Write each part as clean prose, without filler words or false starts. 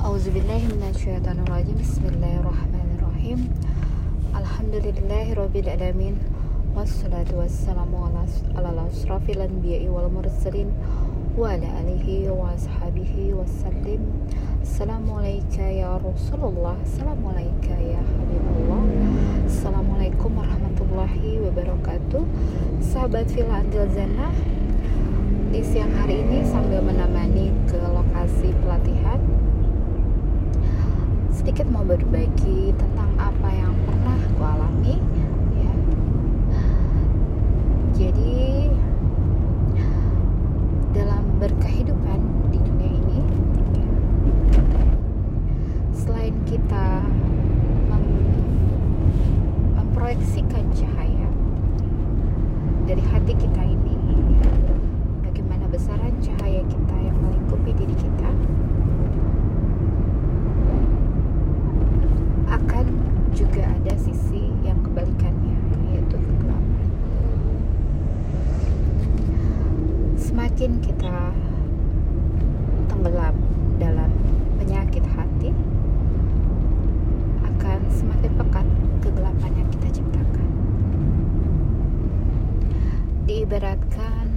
A'udzubillahiminasyaitonirrajim. Bismillahirrahmanirrahim. Alhamdulillahirabbil alamin. Wassalatu wassalamu ala asrofil anbiya'i wal mursalin wa ala alihi wa ashabihi wassalim. Assalamualaikum ya Rasulullah, assalamualaikum ya Habibullah. Assalamualaikum warahmatullahi wabarakatuh. Sahabat Villa Antil Zana, di siang hari ini sambil menemani ke lokasi pelatihan, sedikit mau berbagi tentang apa yang pernah aku alami ya. Jadi dalam berkehidupan di dunia ini, selain kita memproyeksikan cahaya dari hati kita ini, bagaimana besaran cahaya kita yang melingkupi diri kita, akan juga ada sisi yang kebalikannya, yaitu kegelapan. Semakin kita tenggelam dalam penyakit hati, akan semakin pekat kegelapan yang kita ciptakan. Diibaratkan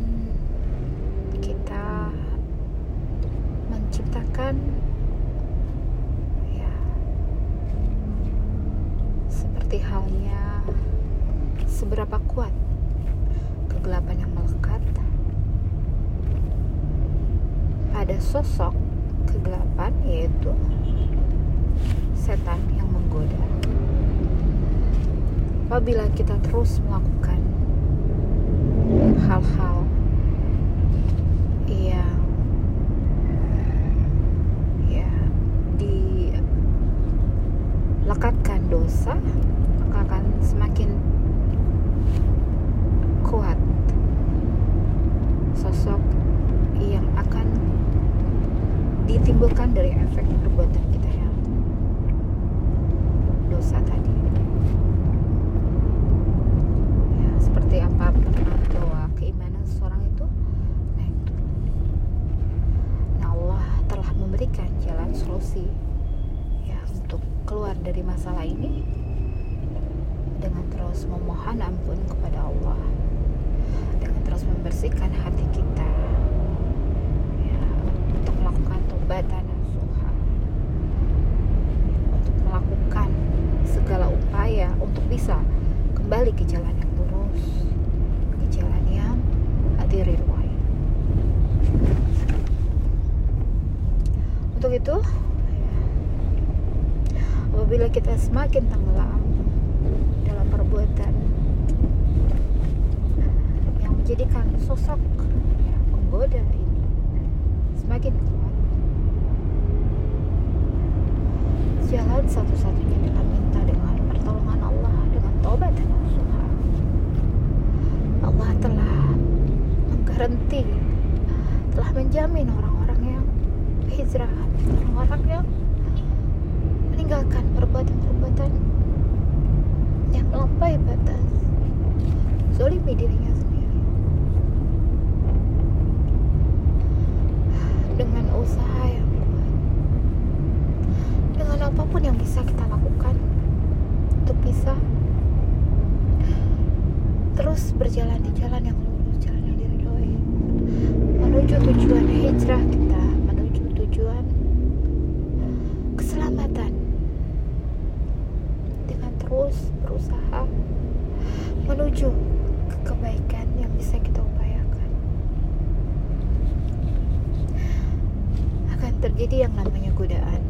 kita menciptakan seperti halnya seberapa kuat kegelapan yang melekat pada sosok kegelapan, yaitu setan yang menggoda. Apabila kita terus melakukan hal-hal yang dilekatkan dosa, maka akan semakin kuat sosok yang akan ditimbulkan dari efek perbuatan kita yang dosa tadi. Ya, seperti apa pernah bahwa keimanan seseorang itu naik turun. Nah, Allah telah memberikan jalan solusi ya untuk keluar dari masalah ini dengan terus memohon ampun kepada Allah, dengan terus membersihkan hati kita ya, untuk melakukan taubatan nasuha, untuk melakukan segala upaya untuk bisa kembali ke jalan yang lurus, ke jalan yang ridwan. Untuk itu, apabila kita semakin tenggelam dalam perbuatan yang menjadikan sosok penggoda ini semakin kuat, jalan satu-satunya adalah minta dengan pertolongan Allah, dengan taubat dan nasuha. Allah telah menggaranti, telah menjamin orang-orang yang hijrah, orang-orang yang meninggalkan perbuatan-perbuatan yang melampaui batas, zalimi dirinya sendiri, dengan usaha yang kuat, dengan apapun yang bisa kita lakukan untuk bisa terus berjalan di jalan yang lurus, jalan yang diridhoi, menuju tujuan hijrah kita, menuju tujuan keselamatan, dengan terus berusaha menuju ke kebaikan yang bisa kita upayakan. Akan terjadi yang namanya godaan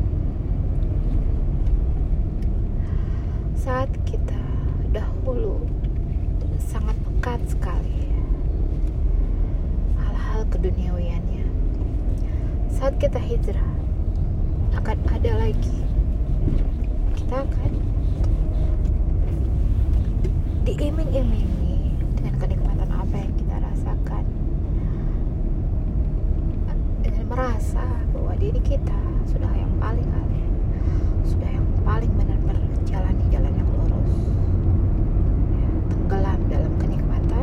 saat kita dahulu sangat pekat sekali hal-hal keduniawiannya. Saat kita hijrah, akan ada lagi, kita akan diiming-imingi dengan kenikmatan apa yang kita rasakan, dengan merasa bahwa diri kita sudah yang paling alim, sudah yang paling benar-benar jalan di jalan yang lurus ya, tenggelam dalam kenikmatan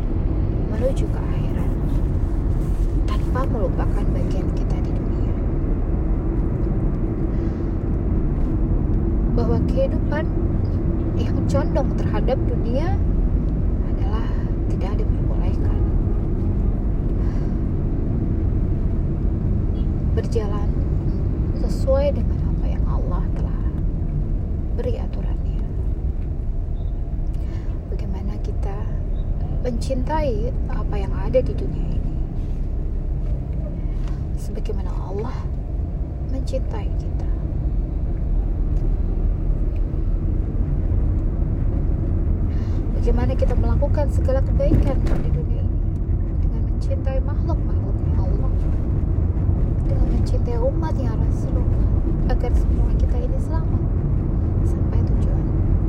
menuju ke akhirat tanpa melupakan bagian kita di dunia. kehidupan yang condong terhadap dunia adalah tidak diperbolehkan. Berjalan sesuai dengan apa yang Allah telah beri aturannya. Bagaimana kita mencintai apa yang ada di dunia ini, sebagaimana Allah mencintai kita. Bagaimana kita melakukan segala kebaikan di dunia ini dengan mencintai makhluk-makhluknya Allah, dengan mencintai umatnya Rasulullah, agar semua kita ini selamat sampai tujuan.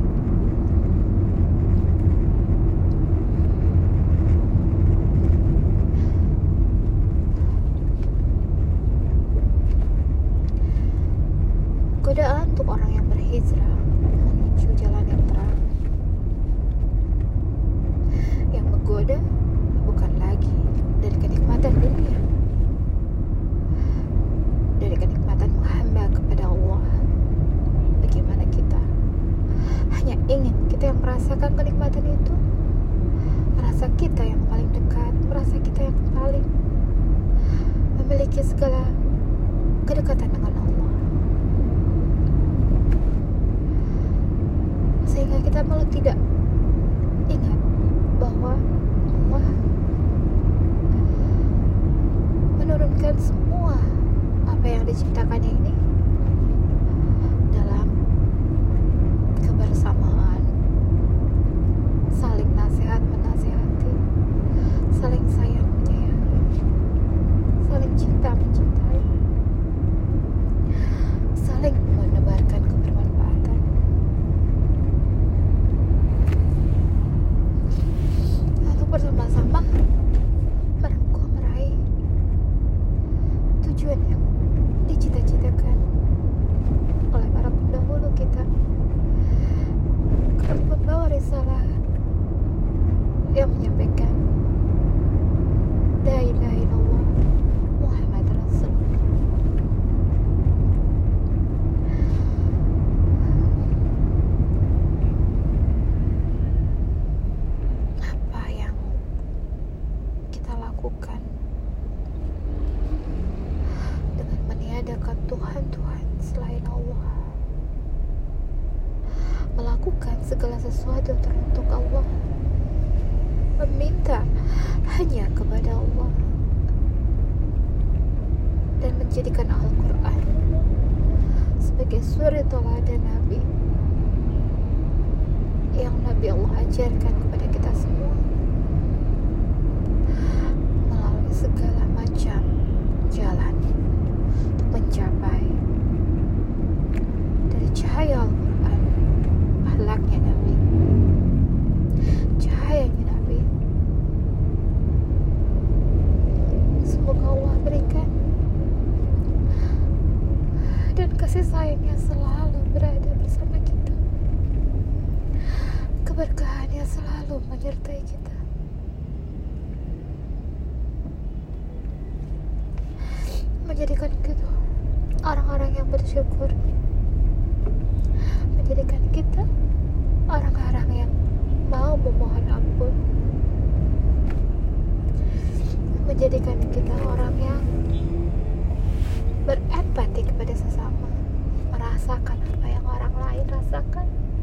Godaan untuk orang yang berhijrah menuju jalan yang terang. Yang menggoda bukan lagi dari kenikmatan dunia, dari kenikmatan menghamba kepada Allah. Bagaimana kita hanya ingin kita yang merasakan kenikmatan itu, merasa kita yang paling dekat, merasa kita yang paling memiliki segala kedekatan dengan Allah, sehingga kita malah tidak ingat bahwa Allah menurunkan semua apa yang diciptakannya ini dalam kebersamaan, saling nasihat menasihati, saling sayang menyayangi, saling cinta mencintai, saling menebarkan kebermanfaatan. Lalu bersama-sama meraih tujuan yang dicita-citakan oleh para pendahulu kita, karena membawa risalah yang menyampaikan la ilaha illallah Muhammad Rasulullah. Apa yang kita lakukan dengan meniadakan Tuhan-Tuhan selain Allah, melakukan segala sesuatu teruntuk Allah, meminta hanya kepada Allah, dan menjadikan Al-Quran sebagai suri teladan Nabi yang Nabi Allah ajarkan kepada kita semua, melalui segala macam jalan untuk mencapai dari cahaya Al-Quran, akhlaknya Nabi, cahayanya Nabi. Semoga Allah berikan dan kasih sayangnya selalu berada bersama kita, keberkahannya selalu menyertai kita. Menjadikan kita orang-orang yang bersyukur, menjadikan kita orang-orang yang mau memohon ampun, menjadikan kita orang yang berempati kepada sesama, merasakan apa yang orang lain rasakan,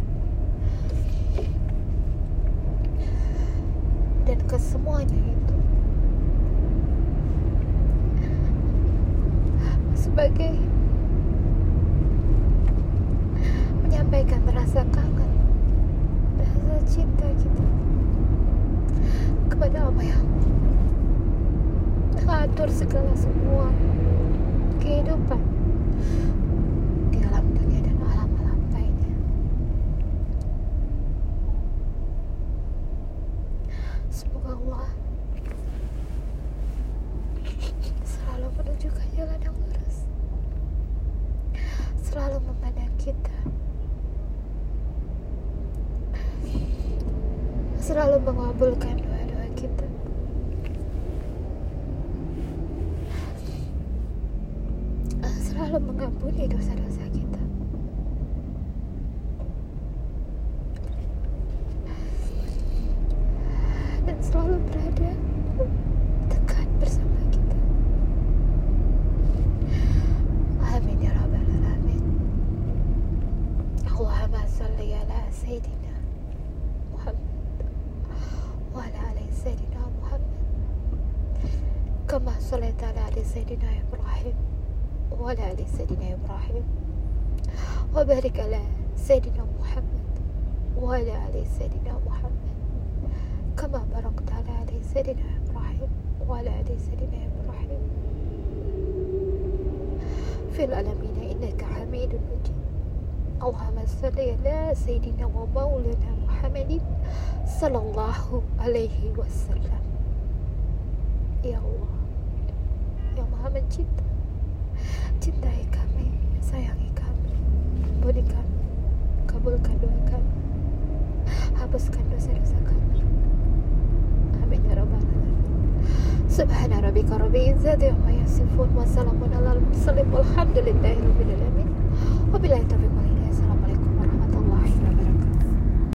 dan kesemuanya itu sebagai menyampaikan rasa kangen, rasa cinta kita kepada apa yang mengatur segala semua kehidupan di alam dunia dan alam-alam lainnya. Semoga Allah selalu menunjukkan jalan yang lurus, selalu memandang kita, selalu mengabulkan doa-doa kita, selalu mengampuni dosa-dosa kita, تعالى على سيدنا إبراهيم وعلى آل سيدنا إبراهيم وبارك على سيدنا محمد وعلى آل سيدنا محمد كما باركت على آل سيدنا إبراهيم وعلى آل سيدنا إبراهيم في العالمين إنك حميد مجيد. اللهم صل على سيدنا ومولانا محمد صلى الله عليه وسلم. Ya Allah yang maha mencinta, cintai kami, sayangi kami, ampuni kami, kabulkan doa kami, hapuskan dosa-dosa kami. Amin ya rabbal alamin. Subhana rabbika rabbil izzati amma yasifun wa salamun alal mursalin walhamdulillahi rabbil alamin. Wabillahi taufiq wal hidayah. Assalamualaikum warahmatullahi wabarakatuh.